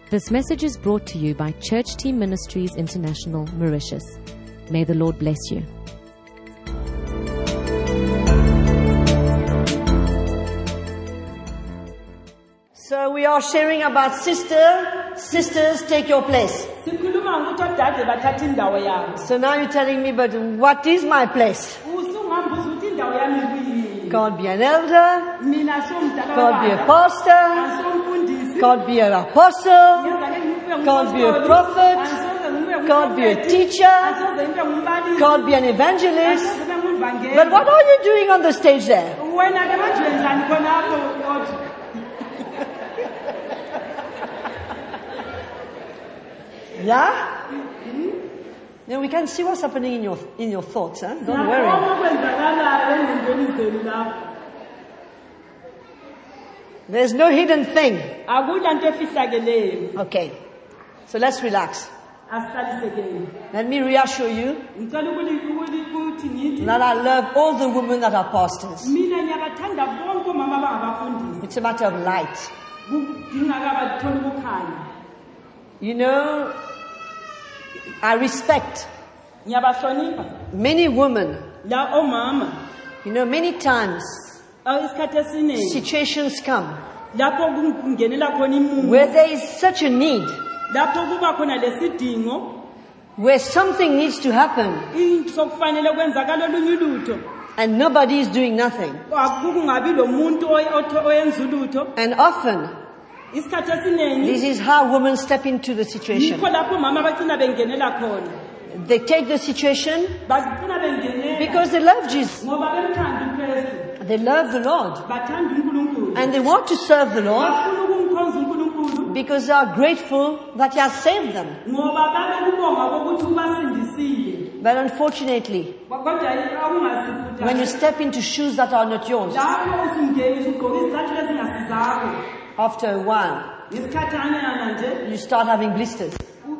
This message is brought to you by Church Team Ministries International, Mauritius. May the Lord bless you. So we are sharing about sisters take your place. So now you're telling me, but what is my place? God be an elder, God be a pastor, God be an apostle, God be a prophet, God be a teacher, God be an evangelist. But what are you doing on the stage there? Yeah? Now we can see what's happening in your thoughts, huh? Don't worry. There's no hidden thing. Okay. So let's relax. Let me reassure you that I love all the women that are pastors. It's a matter of light. You know, I respect many women. You know, many times situations come where there is such a need, where something needs to happen, and nobody is doing nothing. And often, this is how women step into the situation. They take the situation because they love Jesus. They love the Lord. And they want to serve the Lord because they are grateful that He has saved them. But unfortunately, when you step into shoes that are not yours, after a while, you start having blisters.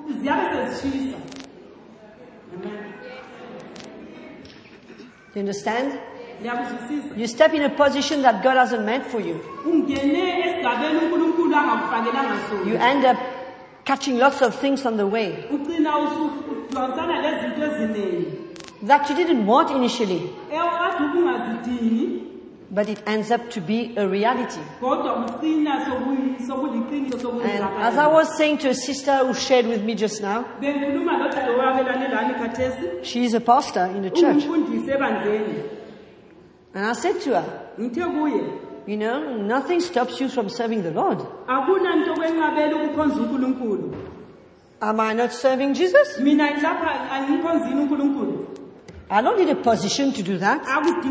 You understand? You step in a position that God hasn't meant for you. You end up catching lots of things on the way that you didn't want initially, but it ends up to be a reality. And as I was saying to a sister who shared with me just now, she is a pastor in the church. And I said to her, you know, nothing stops you from serving the Lord. Am I not serving Jesus? I don't need a position to do that.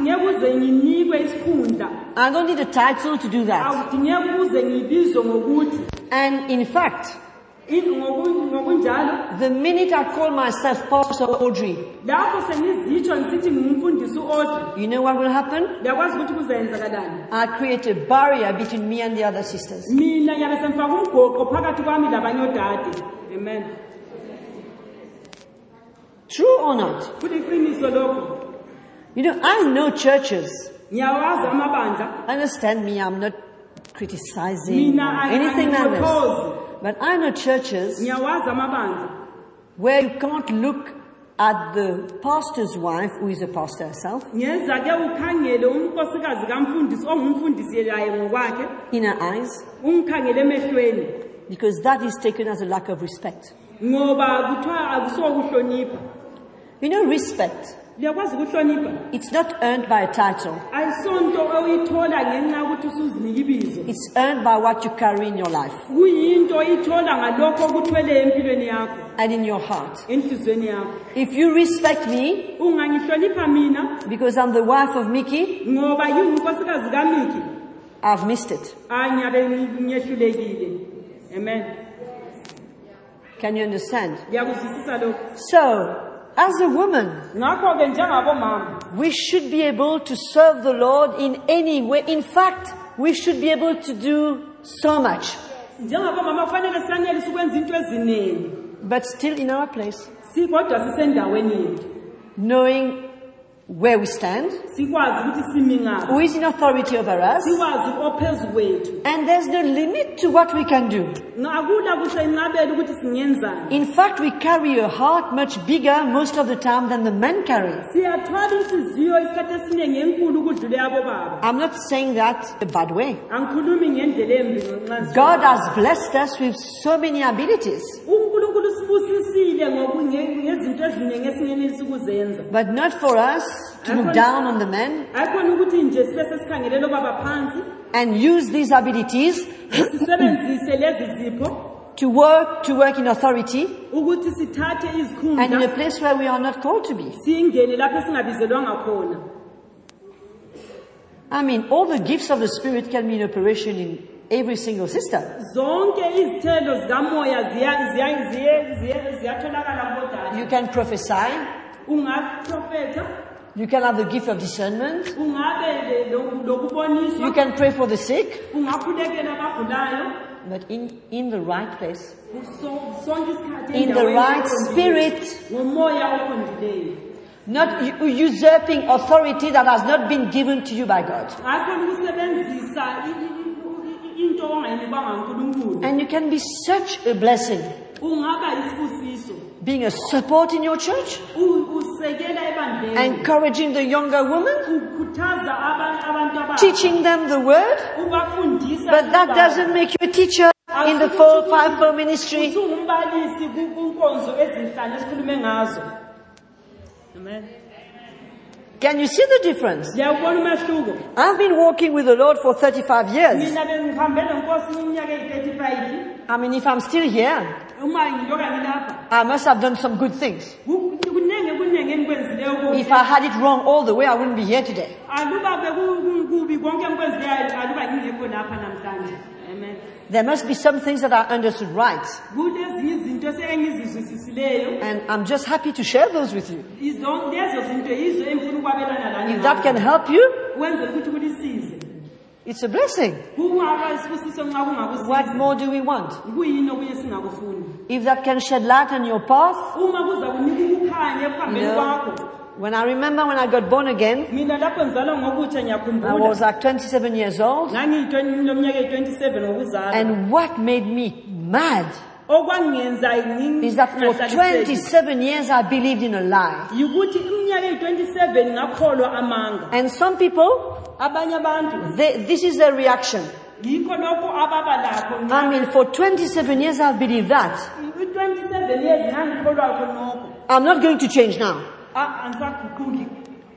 I don't need a title to do that. And in fact, the minute I call myself Pastor Audrey, you know what will happen? I create a barrier between me and the other sisters. Amen. True or not? You know, I know churches. Understand me, I'm not criticizing anything like this. But I know churches where you can't look at the pastor's wife, who is a pastor herself, in her eyes, because that is taken as a lack of respect. You know, respect, it's not earned by a title. It's earned by what you carry in your life and in your heart. If you respect me because I'm the wife of Mickey, I've missed it. Amen. Can you understand? So, as a woman, we should be able to serve the Lord in any way. In fact, we should be able to do so much. But still in our place, knowing where we stand, sikwazi ukuthi simi ngaphi, who is in authority over us, sikwazi ophezu kwethu. and there's no limit to what we can do. Akula kusenqabela ukuthi singenzani. In fact, we carry a heart much bigger most of the time than the men carry. Siyathwala inhliziyo isikhathi esiningi enkulu ukudlula yabo baba. I'm not saying that a bad way. Angikhulumi ngendlela embi ngenxa. God has blessed us with so many abilities, uNkulunkulu sibusisile ngezinto eziningi esingenelisa ukuzenza. but not for us to look down on the men Ayikhona ukuthi nje sibe sesikhangelele baba phansi, and use these abilities sisebenzise lezi zipho to work in authority ukuthi sithathe and in a izikhundla place where we are not called to be. singene lapho esingabizelwanga khona. I mean, all the gifts of the Spirit can be in operation in every single sister. Zonke izithelo zikamoya ziyatholakala kodwa. You can prophesy, Ungaprofeta, you can have the gift of discernment, ungabe you lokuboniswa, can pray for the sick, ungakhulekela abagulayo, but in the right place, sonke isikhathi in the right spirit, ngomoya oqondileyo. not usurping authority that has not been given to you by God. Ayikhona ukusebenzisa into ongayinikwa nguNkulunkulu. And you can be such a blessing, Ungaba isibusiso, being a support in your church, usekela ebandleni, encouraging the younger women, ukhuthaza abantu abasha, teaching them the word, ubafundisa. but that doesn't make you a teacher in the fivefold ministry. Usungumbalisi kunkonzo ezinhlanu esikhulume ngazo. Amen. Can you see the difference? Siyabona umehluko. I've been walking with the Lord for 35 years. Mina bengihambela nkosi iminyaka eyi-35. I mean, if I'm still here, Uma ngiloka ngilapha, I must have done some good things. kunenge engikwenzileyo kubi. If I had it wrong all the way, I wouldn't be here today. Aluba bekukubi konke engikwenzileyo, aluba ngingekho lapha namhlanje. Amen. There must be some things that I understood right. Kulezinye izinto esengizizwisisileyo. And I'm just happy to share those with you. Lezo zinto yizo engifuna ukwabelana lani. If that can help you, Wenze ukuthi kulisize. it's a blessing. Kungaba isibusiso nxa kungakusiza. What more do we want? Kuyini okunye singakufuni? If that can shed light on your path, Uma kuza kunika ukukhanya ekuhambeni kwakho. when I remember when I got born again, Mina lapho ngizalwa ngokutsha I ngiyakhumbula. was like 27 years old. Ngangiyinyaka eyi-27 ngokuzalwa. And what made me mad Okwangenza is that for 27 years I believed in a lie. yikuthi iminyaka eyi-27 ngakholwa amanga. And some people, Abanye abantu this is their reaction. yikho lokho ababa lakho. I mean, for 27 years I've believed that. I-27 years ngangikholwa khonokho. I'm not going to change now. Angisaguquki.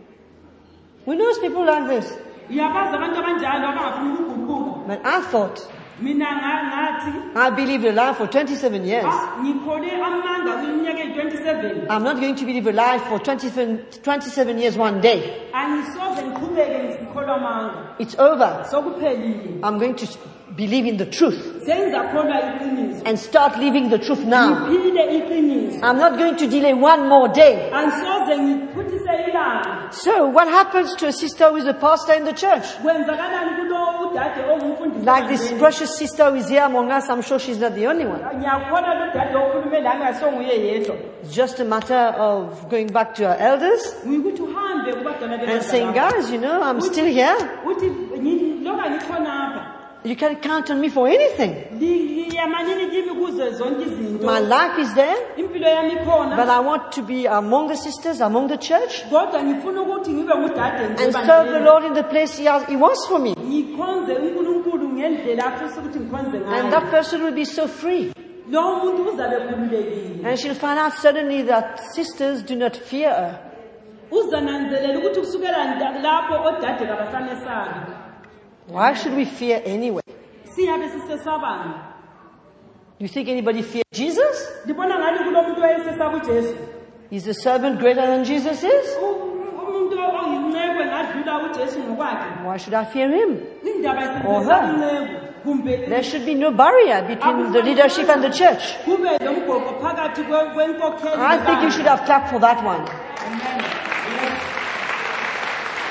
We know people like this. Uyabazi abantu abanjalo abangafuni ukuguquka. But I thought, Mina ngathi I believed a lie for 27 years. ngikhole amanga kwiminyaka eyi-27. I'm not going to believe a lie for 27 years one day. Angisoze ngiqhubeke ngikholwa amanga. It's over. Sokuphelile. I'm going to believe in the truth Sengizakholwa iqiniso. and start living the truth now. Ngiphile iqiniso. I'm not going to delay one more day. Angisoze ngiphuthise ilanga. So what happens to a sister who is a pastor in the church? Kwenzakalani kulo udade ongumfundisi? Like this precious sister who is here among us, I'm sure she's not the only one. Ngiyakholwa lo dade okhulume la ngasonguye yedwa. It's just a matter of going back to our elders Ngikuthi uhambe kubadala and saying, guys, I'm still here. uthi loka ngikhonapha. You can count on me for anything. Yamanini kimi kuze zonke izinto. My life is there, Impilo yami ikhona. but I want to be among the sisters, among the church, Kodwa ngifuna ukuthi ngibe ngudade and serve the Lord in the place He wants for me. Ngikhonze uNkulunkulu ngendlela afisa ukuthi ngikhonze And ngayo. that person will be so free. Lo muntu uzabe khululekile. And she'll find out suddenly that sisters do not fear her. Uzananzelela ukuthi kusukela lapho odade kabasamesabi. Why should we fear anyway? Siyabe sisesabani. Do you think anybody fears Jesus? Ndibona ngani kulo muntu wayesesaba uJesu. Is the servant greater than Jesus is? Umuntu oyinceku ngadlula uJesu ngokwakhe. Why should I fear him? Indaba Or isesaba her. inceku. Kumbe There should be no barrier between the leadership and the church. kube lomgoqo phakathi kwenkokheli. I think you should have clapped for that one. Amen. Yes.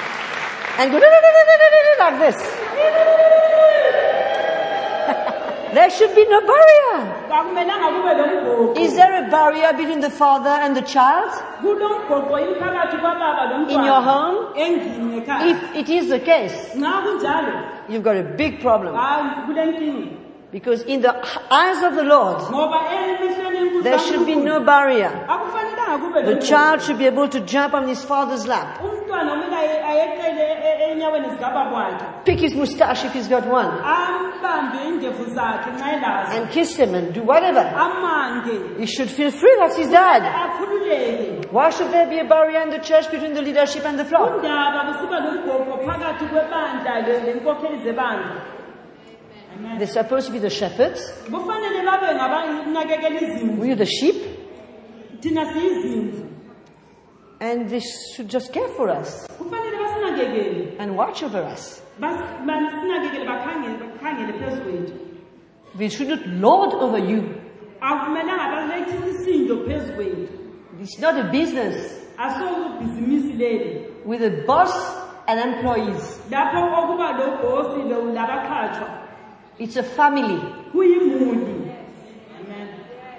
And go like this. There should be no barrier. Akumelanga kube lomgoqo. Is there a barrier between the father and the child Kulomgoqo yini phakathi kwababa in your lomntwana home? endlini ekhaya. If it is the case, Nxa kunjalo, you've got a big problem. hayi kulenkinga. Because in the eyes of the Lord, Ngoba emehlweni enkulu there should be no kaNkulunkulu, barrier. akufanelanga kube The lomgoqo. child should be able to jump on his father's lap, Umntwana kumele ayeqele enyaweni zikababa wakhe. pick his mustache if he's got one, Ambambe indevu zakhe nxa elazo. and kiss him and do whatever. Amange. He should feel free, that's his dad. Akhululeke. Why should there be a barrier in the church between the leadership and the flock? Undaba kusiba lomgoqo phakathi kwebandla lenkokheli zebandla. Amen. They're supposed to be the shepherds. Kufanele babe ngabanakekela izimvu. We're the sheep. Thina siyizimvu. And they should just care for us Kufanele basinakekele. and watch over us. Basinakekele bakhangele phezu kwethu. We shouldn't lord over you. Akumelanga balethisa isisindo phezu kwethu. It's not a business Asokubhizinisi leli. with a boss and employees. Lapho okuba lobhosi labaqhatshwa. It's a family. Kuyimuli. Amen.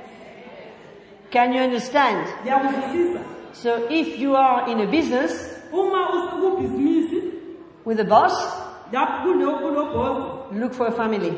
Can you understand? Ngiyakuzwisisa. So if you are in a business Uma usukubhizinisi with a boss, lapho kulobhosi look for a family.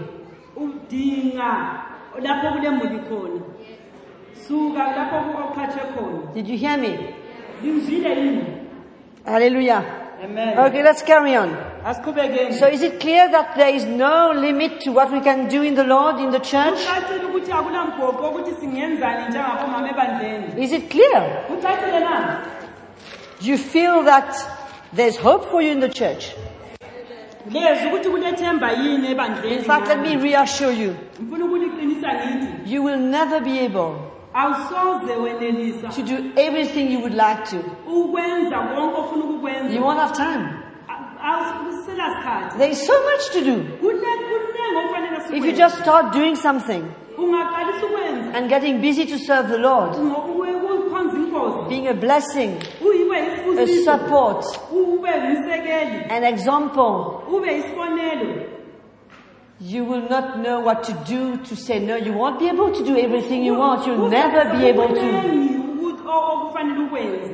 udinga lapho kulemuli khona. Suka lapho kuqhatshwe khona. Did you hear me? Ngizwile yini? Hallelujah. Amen. Okay, let's carry on. Asiqhubekeni. So is it clear that there is no limit to what we can do in the Lord, in the church? Kucacile ukuthi akulamgoqo ukuthi singenzani njengabomama ebandleni. Is it clear? Kucacile na? Do you feel that there's hope for you in the church? Lezi ukuthi kulethemba yini ebandleni. In fact, let me reassure you, Ngifuna ukuliqinisa ngithi you will never be able awusoze wenelisa to do everything you would like to. ukwenza konke ofuna ukukwenza. You won't have time. Awusela sikhathi. There is so much to do. Kunengi okufanele If you sikwenze. just start doing something Ungaqalisa ukwenza and getting busy to serve the Lord, ukukhonza inkosi. being a blessing, Uyibe a isibusiso. support, Ube umsekeli. an example, Ube isibonelo. you will not know what to do to say no. You won't be able to do everything you want. You'll never be able to. Kuningi okufanele ukwenze.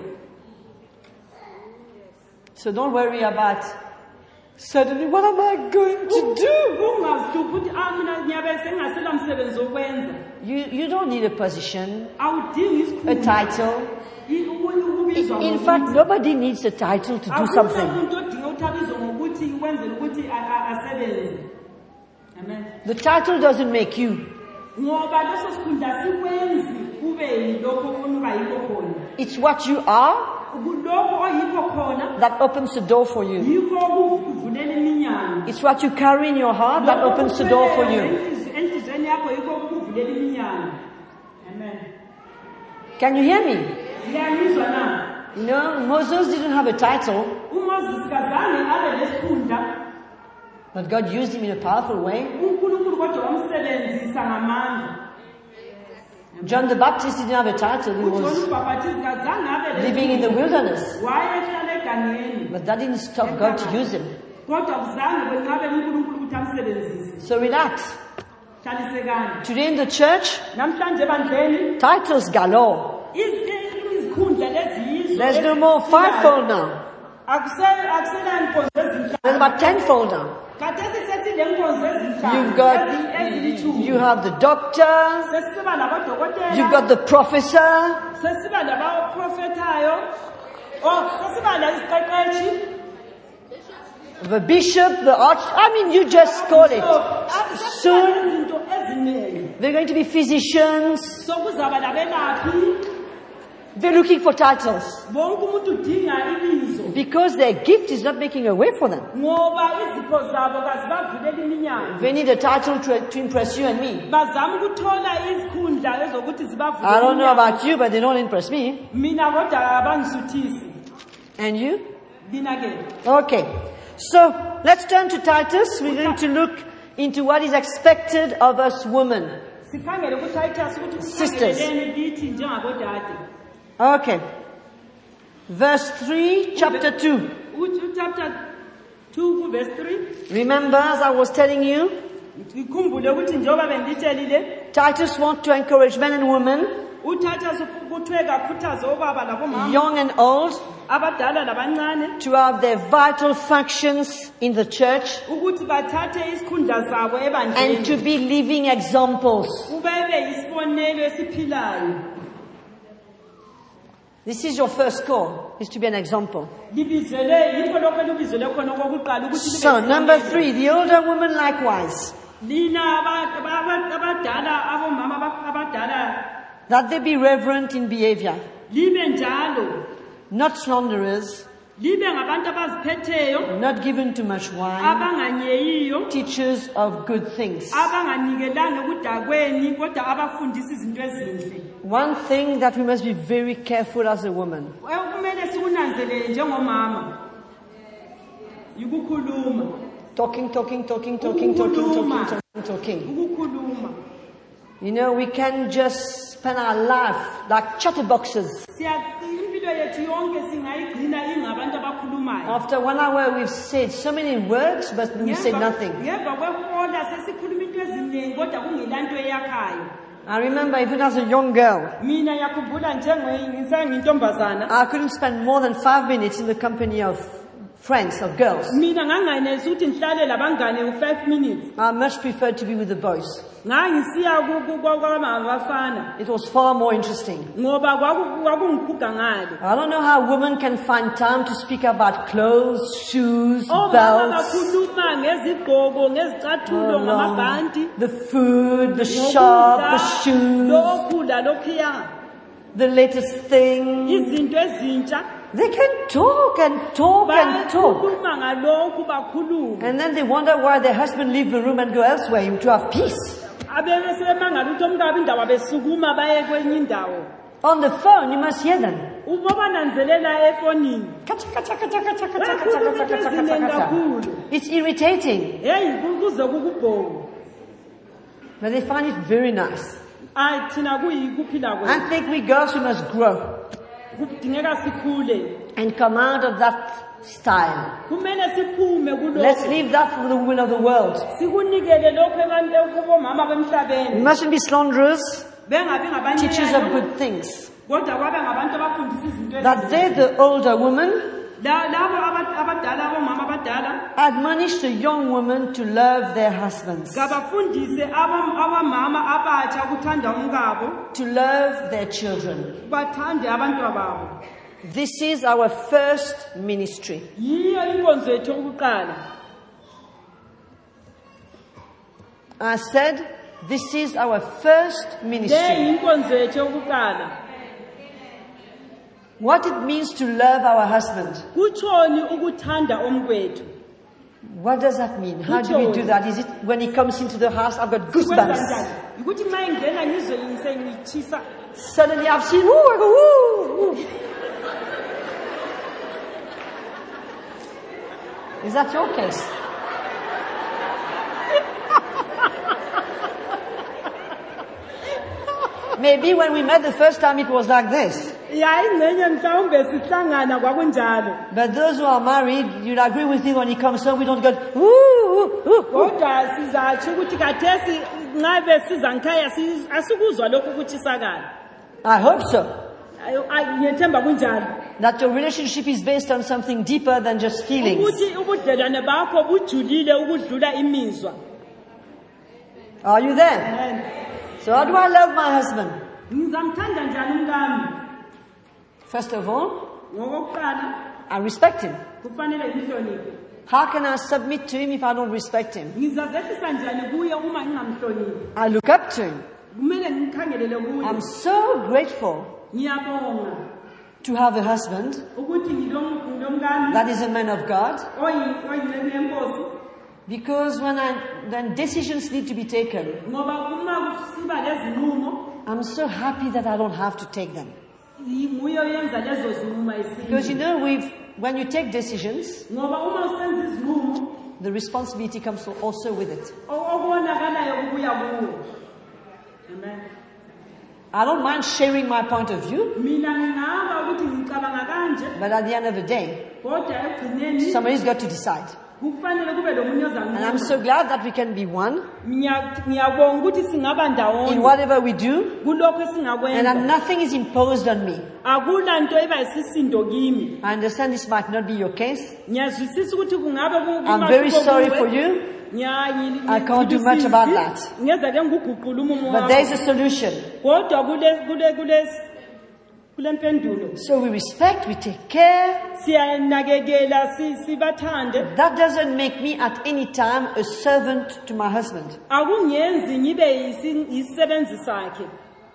So don't worry about suddenly, what am I going to do? Ungazihluphi ukuthi mina ngiyabe sengingasela msebenzi wokwenza. You don't need a position, Awudingi a isikhundla. title. Ukubizwa In fact, nobody needs a title to do something. umuntu odinga ukuthi abizwe ngokuthi ukwenzela ukuthi asebenze. Amen. The title doesn't make you. Ngoba leso sikhundla sikwenzi kube yilokho ofuna uba yikho khona. It's what you are Kulokho oyikho khona that opens the door for you. yikho okuvulela iminyango. It's what you carry in your heart that opens the door for you. Enhlizweni yakho yikho okuvulela iminyango. Amen. Can you hear me? Ngiyamizwa na. No, Moses didn't have a title, uMoses kazange abe lesikhundla. but God used him in a powerful way. uNkulunkulu kodwa wamsebenzisa ngamandla. John the Baptist didn't have a title. He uJohn was uMbhaptizi kazange abe living in the wilderness. wayehlala egangeni. But that didn't stop God to use him. Kodwa kuzange kwenqabele uNkulunkulu ukuthi amsebenzise. So relax. Hlalisekani. Today in the church, Namhlanje ebandleni titles galore. izikhundla lezizwe. There's no more fivefold now. Akusela inkonzo ezinhlanu. There's about tenfold now. Khathesi sesile nkonzo ezinhlanu. You've got, ezilithumi. you have the doctor, Sesiba labodokotela. you've got the professor, Sesiba labaprofetayo. Sesiba laziqeqeshi. the bishop, the arch. I mean, you just call it. Soon, Izinto eziningi. they're going to be physicians. Sokuzaba labelaphi. They're looking for titles Bonke umuntu udinga ibizo. because their gift is not making a way for them. Ngoba izipho zabo kazibavulela iminyango. They need a title to impress you and me. Bazama ukuthola izikhundla ezokuthi zibavulela. I don't know about you, but they don't impress me. Mina kodwa abangisuthisi. And you? Mina ke. Okay. So, let's turn to Titus. We're going to look into what is expected of us women. Sikhangele kuTitus ukuthi Sisters. sikhangeleni lithi njengabodade. Okay. Verse 3, chapter 2. Chapter 2 verse 3. Remember, as I was telling you, ngikhumbule ukuthi njengoba benditshelile Titus wants to encourage men and women, uTitus kuthiwe kakhuthaze obaba labomama young and old, abadala labancane to have their vital functions in the church ukuthi bathathe isikhundla sabo and to ebandleni be living examples. ubebe isibonelo esiphilayo. This is your first call, is to be an example. Libizele yikho lokho libizele khona okokuqala ukuthi libe So, number 3, the older woman likewise, lina abadala abomama abadala that they be reverent in behavior, libe njalo, not slanderers, libe ngabantu abaziphetheyo, not given to much wine, abanganyeyiyo, teachers of good things. abanganikelanga ekudakweni kodwa abafundisa izinto ezinhle. One thing that we must be very careful as a woman, Kumele sikunanzelele njengomama ukukhuluma, talking. ukukhuluma. You know, we can just spend our life like chatterboxes. Impilo yethu yonke singayigcina ingabantu abakhulumayo. After 1 hour we've said so many words, but we said nothing. Ngemva kwehola sesikhuluma into eziningi kodwa kungelanto eyakhayo. I remember even as a young girl, Mina yakhumbula ngisayintombazana. I couldn't spend more than 5 minutes in the company of friends, of girls. Mina ngangayenelisi ukuthi ngihlale labangane u5 minutes. I much preferred to be with the boys. Ngangisiya kwabafana It was far more interesting. ngoba kwakungiguga ngale. I don't know how women can find time to speak about clothes, shoes, Omama belts, bakhuluma ngezigqoko, ngezicathulo, ngamabhanti, the food, the shop, the shoes, lokudla lokhiya, the latest thing. izinto ezintsha. They can talk and talk and talk. Bakhuluma ngalokhu bakhuluma. And then they wonder why their husband leave the room and go elsewhere to have peace. Abebe semangala ukuthi omkabi indawo besukuma baye kwenye indawo. On the phone, you must hear them. Uboba nanzelela efonini. It's irritating, Hey kuze kukubhonga. but they find it very nice. Ay thina kuyikuphila kwethu. I think we girls, we must grow Kudingeka sikhule. and come out of that style. Kumele siphume Let's kulokho. leave that for the women of the world. Sikunikele lokho abantu kubomama We bemhlabeni. mustn't be slanderers, Bengabi ngabanye teachers of good things. kodwa kwabe ngabantu abafundisa izinto That they, the older woman, labo abadala abomama abadala admonish the young women to love their husbands, ngabafundise abamama abatsha ukuthanda umkabo, to love their children. bathande abantwana babo. This is our first ministry. Yiyo inkonzo yethu yokuqala. I said, this is our first Le ministry. inkonzo yethu yokuqala. What it means to love our husband. Kutshoni ukuthanda omkwethu? What does that mean? How do we do that? Is it when he comes into the house, I've got Kwenza goosebumps. njani? Ukuthi uma ingena ngizwe ngitshisa. Suddenly I've seen, woo, I go, woo, woo. Is that your case? Maybe when we met the first time it was like this. Ya ingcenye mhlawumbe sihlangana kwakunjalo. But those who are married, you'll agree with me when he comes home, we don't go, woo, woo, woo. Kodwa sizatsho ukuthi kathesi ngabe siza ngikhaya asikuzwa lokhu ukuthisakala. I hope so. Ngiyethemba kunjalo. That your relationship is based on something deeper than just feelings. Ukuthi ubudlelwane bakho bujulile ukudlula imizwa. Are you there? Amen. So how do I love my husband? Ngizamthanda njani umkami? First of all, Ngokokuqala I respect him. kufanele ngihloniphe. How can I submit to him if I don't respect him? Ngizazehlisa njani kuye uma ngingamhloniphi? I look up to him. Kumele ngikhangelele kuye. I'm so grateful Ngiyabonga to have a husband ukuthi ngilomkami that is a man of God. oyinceku yenkosi. Because when decisions need to be taken, Ngoba uma kusiba lezinqumo I'm so happy that I don't have to take them. nguye oyenza lezo zinqumo Because you ezinye. know, when you take decisions, Ngoba uma usenza izinqumo the responsibility comes also with it. okubonakalayo kubuya kuwe. Amen. I don't mind sharing my point of view, Mina ngingaba ukuthi ngicabanga kanje but at the end of the day, kodwa ekugcineni somebody's got to decide. kufanele kube lo munye And I'm ozanquma. so glad that we can be one Ngiyabonga ukuthi singaba in ndawonye whatever we do, kulokho and that esingakwenza. nothing is imposed on me. Akula nto eba isisindo kimi. I understand this might not be your case. Ngiyazwisisa ukuthi kungabe I'm very sorry for you, I can't do much about that. Ngeza ke nguguqula umumo but wakho. there is a solution. Kodwa kule mpendulo So we respect, we take care. siyanakekela sibathande. That doesn't make me at any time a servant to my husband. Akungenzi ngibe isisebenzi sakhe.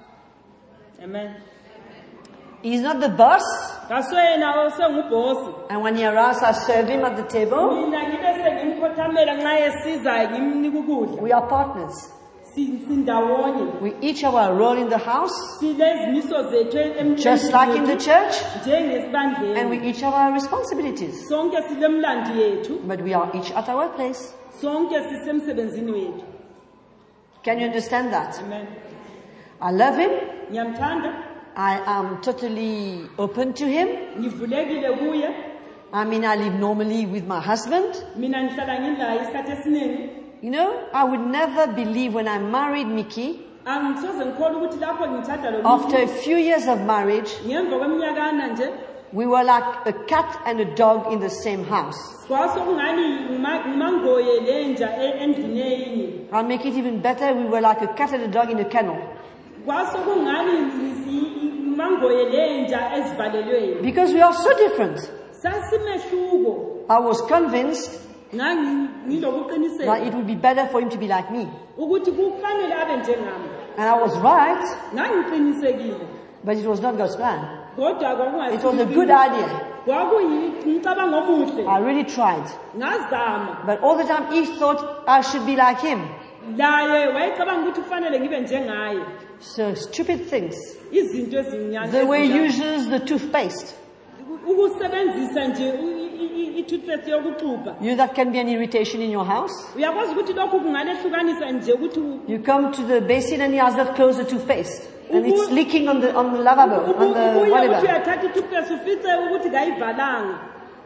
Amen. He's not the boss, Kaswena osengubhosi. and when he arrives, I serve him at the table. Mina ngibe sengimkhothamela nxa esiza ngimnika ukudla. We are partners. Sindawonye. We each have our role in the house, Silezimiso zethu emhlabeni. just like in the church, Njengesibandleni. and we each have our responsibilities. Sonke silemlandi yethu. But we are each at our place. Sonke sisemsebenzini wethu. Can you understand that? Amen. I love him. Ngiyamthanda. I am totally open to him. Ngivulekile kuye. I mean, I live normally with my husband. Mina ngihlala ngilaye isikhathi esiningi. You know, I would never believe when I married Mickey, Angisoze ngikholwa ukuthi lapho ngithatha lo after a few years of marriage, ngemva kweminyakana nje we were like a cat and a dog in the same house. kwasokungani umangoye lenja endlini eyinye. I'll make it even better. We were like a cat and a dog in a kennel. Kwasokungani umangoye lenja ezivalelweni. Because we are so different. Sasimehluko. I was convinced that Ngilokuqiniseka it would be better for him to be like me. ukuthi kufanele abe njengami. And I was right, Ngangiqinisekile. but it was not God's plan. Kodwa It was a good idea. kwakuyimcabango omuhle. I really tried. Ngazama. But all the time he thought I should be like him. Laye wayecabanga ukuthi kufanele ngibe njengaye. So stupid things. Izinto ezinyane. The way he uses the toothpaste. Ukusebenzisa nje i-toothpaste yokuxubha. You know that can be an irritation in your house. Uyakwazi ukuthi lokhu kungalehlukanisa nje ukuthi You come to the basin and he has not closed the toothpaste. And it's leaking on the lavabo, on the ubuye ukuthi whatever. uyathatha i-toothpaste ufice ukuthi kayivalanga.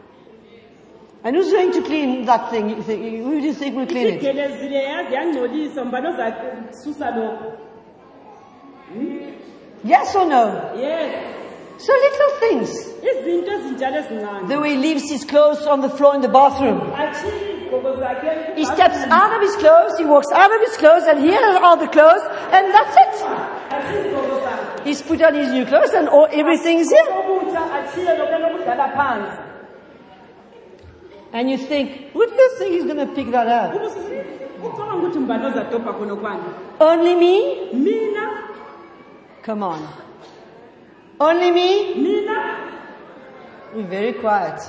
And who's going to clean that thing? Who do you think will clean it? Isigelezile yazi yangcolisa mbani ozakususa lokho. Yes or no? Yes. So little things. Izinto ezinjalo ezincane. The way he leaves his clothes on the floor in the bathroom. Achieve izigqoko zakhe. He steps out of his clothes, he walks out of his clothes, and here are all the clothes, and that's it. Achieve izigqoko zakhe. He's put on his new clothes and everything's here. Okutsha achiye lokho lokudlala phansi. And you think, who do you think he's going to pick that up? Ucabanga ukuthi mbani ozadobha khona kwani? Only me? Mina. Come on. Only me? Mina. Be very quiet.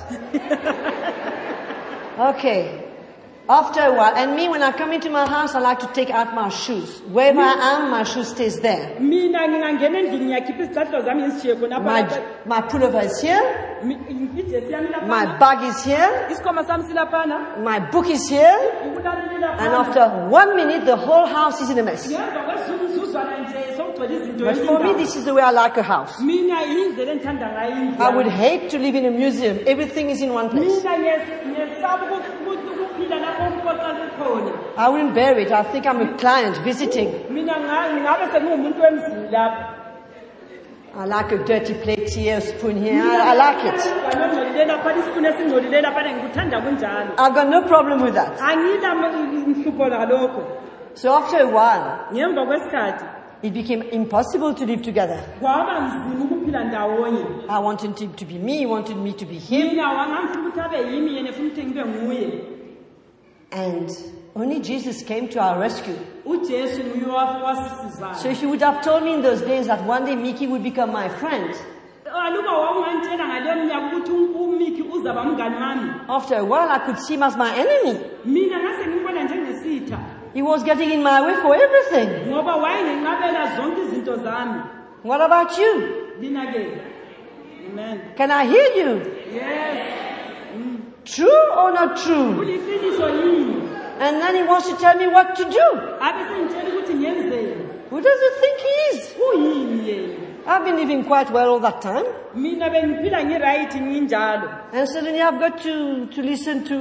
Okay. After a while, and me, when I come into my house, I like to take out my shoes. Wherever I am, my shoe stays there. Mina ngingangena endlini ngiyakhipha izicathulo zami ngizishiye khona My pullover is here. ijesi yami My laphana. bag is here. Isikhwama sami silaphana. My book is here. Ukulalela laphana. And after 1 minute, the whole house is in a mess. Ngemva kwezumzuzwana nje sokugcwele izinto But for me, this is the way I like a house. Mina yindlela engithanda ngayo indlu. I would hate to live in a museum. Everything is in one place. Mina ngiyesaba ukuphila lapho umkoqa likhona. I wouldn't bear it. I think I'm a client visiting. Mina ngabe sengumuntu wemzini lapho. I like a dirty plate here, a spoon here. I like it. Nganongcolile lapha isipuni esingcolile lapha ngikuthanda kunjalo. I've got no problem with that. Angila mhlupho ngalokho. So after a while, Ngemva kwesikhathi it became impossible to live together. kwaba nzima ukuphila ndawonye. I wanted him to be me, he wanted me to be him. Mina wangamfuna ukuthi abe yimi yena futhi ngibe nguye. And only Jesus came to our rescue. uJesu nguye wasisizayo. So if you would have told me in those days that one day Mickey would become my friend, Aluba wawungantshela ngale minyaka ukuthi uMiki uzaba umngani wami. after a while I could see him as my enemy. Mina ngase ngimbona njengesitha He was getting in my way for everything. ngoba wayenginqabela zonke izinto zami. What about you? Lina ke. Amen. Can I hear you? Yes. True or not true? Kuliqiniso yini? And then he wants to tell me what to do. Abe sengitshela ukuthi ngiyenzeni. Who does he think he is? Uyini yena? I've been living quite well all that time. Mina bengiphila ngiright nginjalo. And suddenly I've got to listen to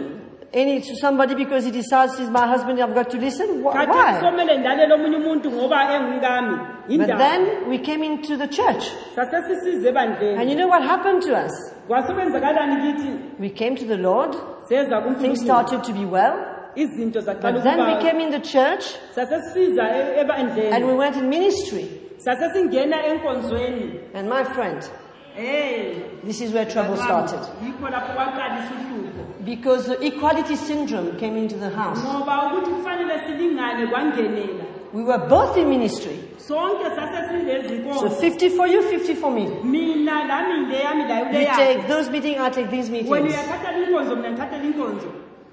to somebody because he decides he's my husband, I've got to listen? Why? Khathesi somele ndilalela omunye umuntu ngoba engumkami. But Yindaba. then we came into the church. Sasesisize ebandleni. And you know what happened to us? Kwasekwenzakalani kithi? We came to the Lord. Seza Things kuNkulunkulu. started to be well. Izinto zaqala But then we ukuba. came in the church Sasesiza ebandleni. and we went in ministry. Sasesingena enkonzweni. And my friend, Hey. this is where trouble started. Yikho lapho kwaqalisa uhlupho. Because the equality syndrome came into the house. Ngoba ukuthi kufanele silingane kwangenela. We were both in ministry. Sonke So sasesilezinkonzo. 50 for you, 50 for me. Mina lami ndeyami la You yakho. take those meetings, I take these Wena meetings. uyathatha inkonzo mina ngithatha inkonzo.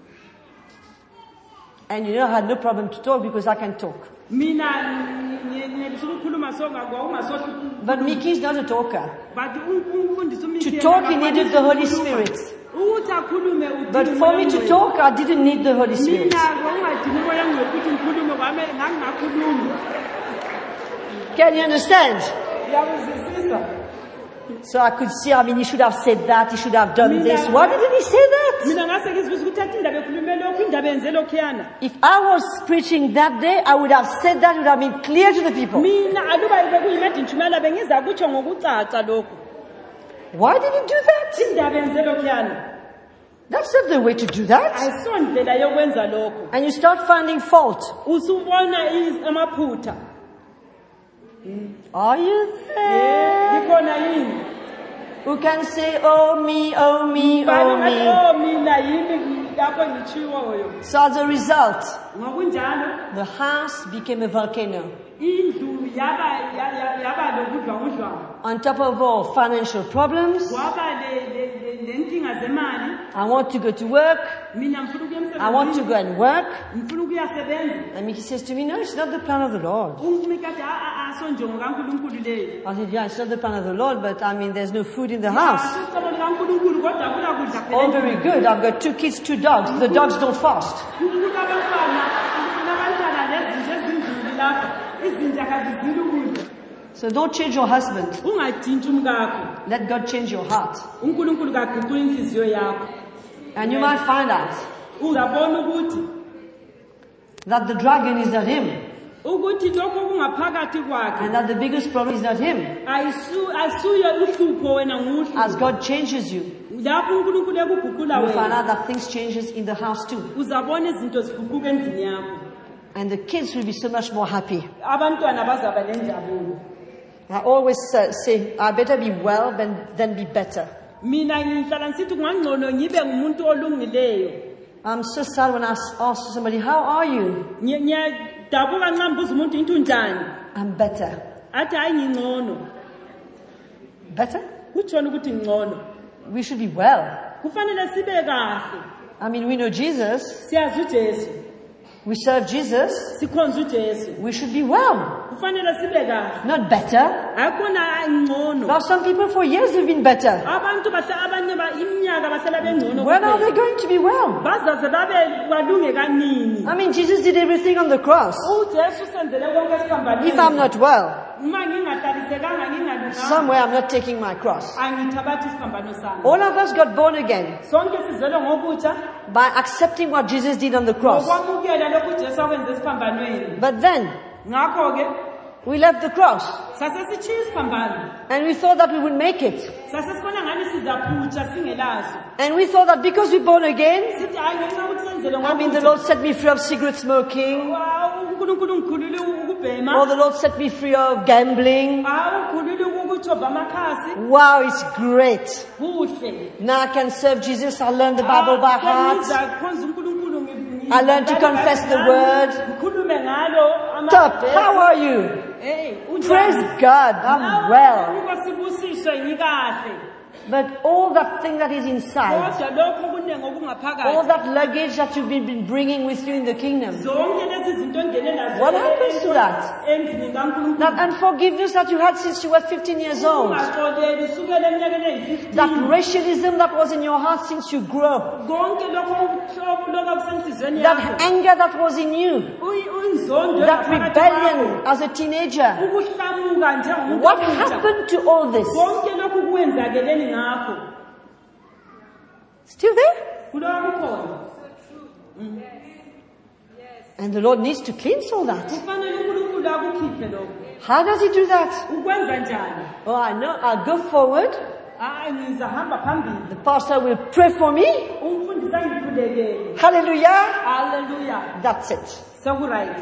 And you know, I had no problem to talk because I can talk. Mina ngiyelisa ukukhuluma songa kwaungasohla. But Mickey is not a talker. But umfundisi uMikhaya. To talk, he needed the Holy Spirit. Ukuthi akhulume udinga But for me to umoya. talk, I didn't need the Holy Spirit. Mina kwaungadinga umoya ngokuthi ngikhulume kwami ngangingakhulumi. Can you understand? Uyakuzwisisa? So I could see, he should have said that, he should have done this. Why didn't he say that? Mina ngase ngizwisa ukuthi athi indaba ekhulume lokhu indaba yenze lokhuyana. If I was preaching that day, I would have said that, it would have been clear to the people. Mina aluba bekuyimedi ntshumayela bengiza kutsho ngokucaca lokhu. Why did he do that? Indaba yenze lokhuyana. That's not the way to do that. Ayisondlela yokwenza lokho. And you start finding fault. Usubona amaphutha. Are you there? Ikhona yini? Who can say, oh me, oh me, Bani oh ngathi me. oh mina yini lapho ngichiwoyo. So as a result, Ngokunjalo the house became a volcano. indlu yaba lokudlwangudlwangu. On top of all financial problems, Kwaba lenkinga zemali. I want to go to work. Mina ngifuna ukuya emsebenzini. I want to go and work. Ngifuna ukuyasebenza. And Mickey says to me, no, it's not the plan of the Lord. Umikade asonjongo kaNkulunkulu leyo. I said, yeah, it's not the plan of the Lord, but there's no food in the house. Asicebo likaNkulunkulu kodwa kulakudla All very good. I've got 2 kids, 2 dogs. The dogs don't fast. Kunabantwana lezinto ezindluli lapha. Izinja akazizili ukudla. So don't change your husband. Ungadintshi umkakho. Let God change your heart. uNkulunkulu kaguqula inhliziyo yakho. And you might find out Uzabona ukuthi that the dragon is not him. ukuthi lokho kungaphakathi kwakhe And that the biggest problem is not him. ayisuyo uhlupho wena nguhlupho. As God changes you, Lapho uNkulunkulu ekuguqula you'll find wena out that things changes in the house too. uzabona izinto ziguquka endlini yakho. And the kids will be so much more happy. Abantwana bazaba nenjabulo. I always say, I better be well than be better. Mina ngihlala ngisithi kungangcono ngibe ngumuntu olungileyo. I'm so sad when I ask somebody, how are you? Ngiyadabuka nxa mbuza umuntu into njani. I'm better. Athi hayi ngingcono. Better? Kutshona ukuthi ngcono. We should be well. Kufanele sibe kahle. We know Jesus. Siyazi uJesu. We serve Jesus. Sikhonza uJesu. We should be well. Kufanele sibe kahle. Not better. Akhona ngcono. Now some people for years have been better. Abantu abanye iminyaka bahlala bengcono. When are they going to be well? Bazaze babe balunge kanini. Jesus did everything on the cross. uJesu senzele konke esiphambanweni. If I'm not well, Uma ngingahlalisekanga ngingalunganga. somewhere I'm not taking my cross. Angithabathi isiphambano sami. All of us got born again Sonke sizelwe ngokutsha. by accepting what Jesus did on the cross. Ngokwamukela lokhu uJesu akwenze esiphambanweni. But then, Ngakho ke we left the cross sasesichiya isiphambano. and we thought that we would make it. Sasesibona ngani sizaphutsha singelazo. And we thought that because we're born again, Sithi hayi ngenxa ukuthi senzele the ngokutsha. Lord set me free of cigarette smoking, uNkulunkulu ngikhulule ukubhema. or the Lord set me free of gambling. Ukhulule ukuthoba amakhasi. Wow, it's great. Kuhle. Now I can serve Jesus. I learned the Bible by heart. Sengizakhonza uNkulunkulu I learned to confess the word. Ngikhulume ngalo Top, how are you? Hey, Praise God, I'm well. Ukosibusiswe ngikahle. But all that thing that is inside, Kodwa lokho kunenge all okungaphakathi. that luggage that you've been bringing with you in the kingdom, Zonke lezi zinto ongene nazo. What happens to that? Endlini kaNkulunkulu. that unforgiveness that you had since you were 15 years old, Ungaxoleli sukela eminyakeni eyi-15. that racialism that was in your heart since you grew up, Konke lokho uhlobo lokusenhlizweni that yakho. anger that was in you, Uyinzondo that ngaphakathi rebellion kwakho. as a teenager. Ukuhlamuka njengomuntu What omusha. happened to all this? Konke lokhu kuwenzakeleni ngakho. Still there? Kulokukhona. And the Lord needs to cleanse all that. kufanele uNkulunkulu akukhiphe lokho. How does he do that? Ukwenza njani? Oh, I know. I'll go forward. Ngizahamba phambili. The pastor will pray for me. Umfundisi angikhulekele. Hallelujah. Hallelujah. That's it. Sekuright.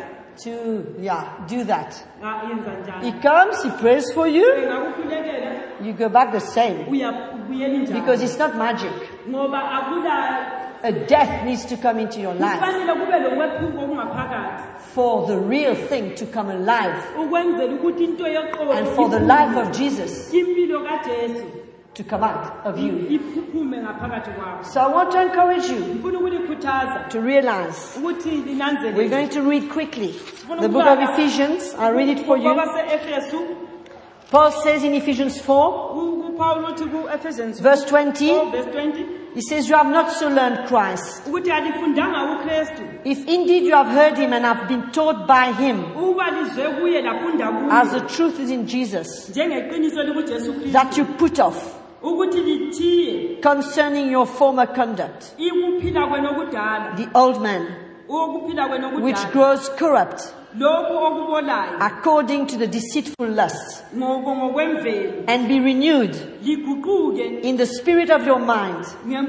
Do that. Yenza njani? He comes, he prays for you. Ngakukhulekela You go back the same. uyabuyela njani? Because it's not magic. Ngoba akula A death needs to come into your life kufanele kube lokwephuka okungaphakathi. for the real thing to come alive Ukwenzela ukuthi into yoqobo and for the life of Jesus impilo kaJesu to come out of you. iphuphume ngaphakathi kwakho. So I want to encourage you Ngifuna ukulikhuthaza to realize. ukuthi We're linanzelele. going to read quickly the book of Ephesians. I'll read it for you. Efesu Paul says in Ephesians 4, uPaul uthi ku-Ephesians verse 20, 4 verse 20 he says, you have not so learned Christ. ukuthi alifundanga uKristu If indeed you have heard him and have been taught by him, uba lizwe kuye lafunda as the kuye truth is in Jesus, njengeqiniso likuJesu Kristu that you put off ukuthi lithiye concerning your former conduct, ikuphila kwenu okudala the old man, ukuphila kwenu which okudala grows corrupt lokho okubolayo according to the deceitful lust, ngokwemvelo and be renewed liguquke in the spirit of your mind,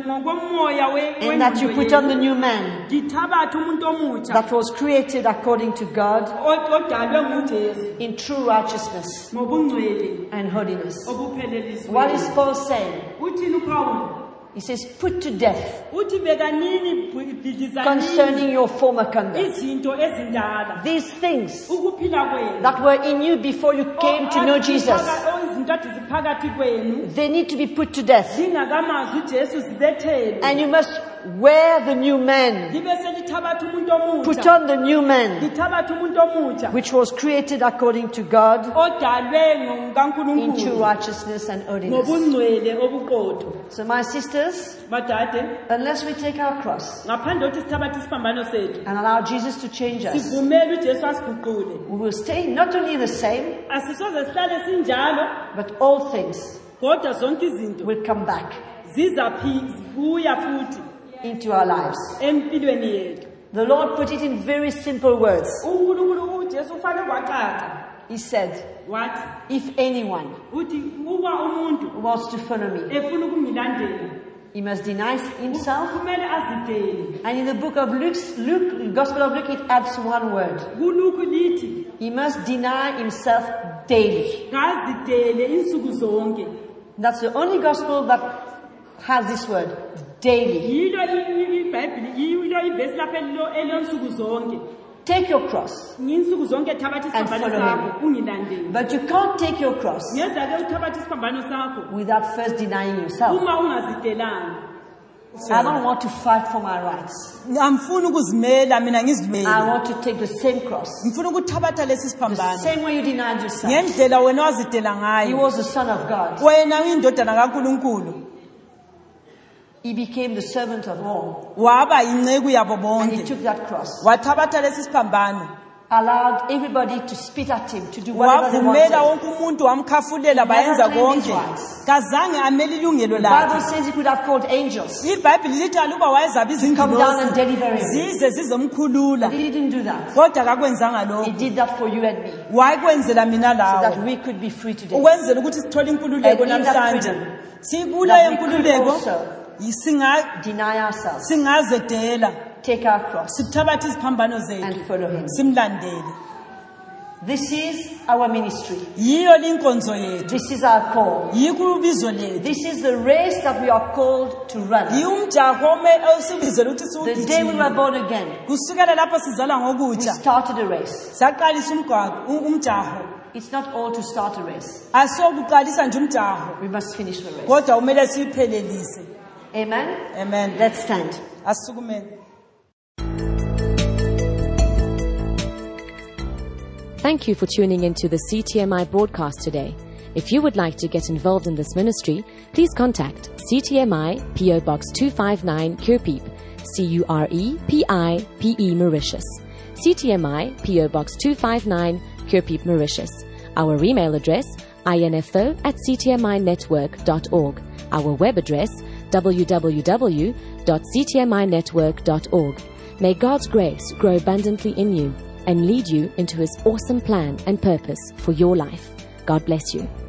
ngokomoya and that you put on the new man ngithabathe umuntu omutsha that was created according to God odalwe nguJesu in true righteousness ngobungcwele and holiness. obuphelelizwe. What is Paul saying? Uthini uPaul? He says, put to death Uthi bekanini bhidlizanini concerning your former conduct. izinto ezindala These things ukuphila kwenu that were in you before you came to know Jesus, izinto ziphakathi kwenu they need to be put to death. zingakamazi uJesu zibethelwe And you must wear the new man. libe selithabatha umuntu Put omutsha on the new man, lithabatha umuntu omutsha which was created according to God odalwe in true nguNkulunkulu righteousness and holiness. ngobungcwele obuqotho. So my sisters, Badade, unless we take our cross ngaphandle kokuthi sithabathe isiphambano sethu and allow Jesus to change us, sivumele uJesu asiguqule, we will stay not only the same, asisoze sihlale sinjalo but all things kodwa zonke izinto will come back zizabuya futhi into our lives. empilweni yethu. The Lord put it in very simple words. uNkulunkulu uJesu ufanele kwacaca He said, wathi if anyone uthi uba umuntu wants to follow me, efuna ukungilandela he must deny himself. kumele azidele. And in the book of Luke, Gospel of Luke, it adds one word. Kuluku lithi He must deny himself daily. ngazidele insuku zonke. That's the only gospel that has this word, daily. Yilo iBhayibheli yilo ivesi lapha eliyonsuku zonke. Take your cross. Nginsuku zonke thabatha And isiphambano follow sakho ungilandele. But you can't take your cross Ngeza ke uthabatha isiphambano sakho without first denying yourself. uma ungazidelanga. I don't want to fight for my rights. Angifuni ukuzimela mina I ngizimele. want to take the same cross. Ngifuna ukuthabatha lesi The siphambano. same way you denied yourself. Ngendlela wena wazidela He ngayo. was the Son of God. Wena uyindodana kaNkulunkulu. He became the servant of all. Waba inceku yabo And he bonke. took that cross. Wathabatha lesi siphambano. Allowed everybody to spit at him, to do whatever they Wavumela wanted. wonke umuntu wamkhafulela bayenza claimed his konke. rights. Kazange amele ilungelo The Bible lakhe. says he could have called angels. iBhayibheli lithi aluba wayezaba Come down and izingilosi deliver him. zize zizomkhulula. He didn't do that. Kodwa kakwenzanga He lokho. did that for you and me, Wayikwenzela mina so that lawe. we could be free today. Ukwenzela ukuthi sithole inkululeko And in that namhlanje. freedom, Sikule that we could yenkululeko also deny ourselves, singazedela. take our cross, Sithabathe iziphambano zethu. and follow him. Simlandele. This is our ministry. Yiyo linkonzo yethu. This is our call. Yiko ubizo lethu. This is the race that we are called to run. Yumjaho osibizela ukuthi The day we were siwugijime. born again, Kusukela lapho sizala we ngokutsha. started a race. Saqalisa umjaho. It's not all to start a race. Asokuqalisa nje umjaho. We must finish the race. Kodwa umele siphelelise. Amen? Amen. Let's stand. Asukumele. Thank you for tuning into the CTMI broadcast today. If you would like to get involved in this ministry, please contact CTMI PO Box 259 Curepeep, CUREPIPE Mauritius. CTMI PO Box 259 Curepeep Mauritius. Our email address info@ctminetwork.org. Our web address www.ctminetwork.org. May God's grace grow abundantly in you and lead you into His awesome plan and purpose for your life. God bless you.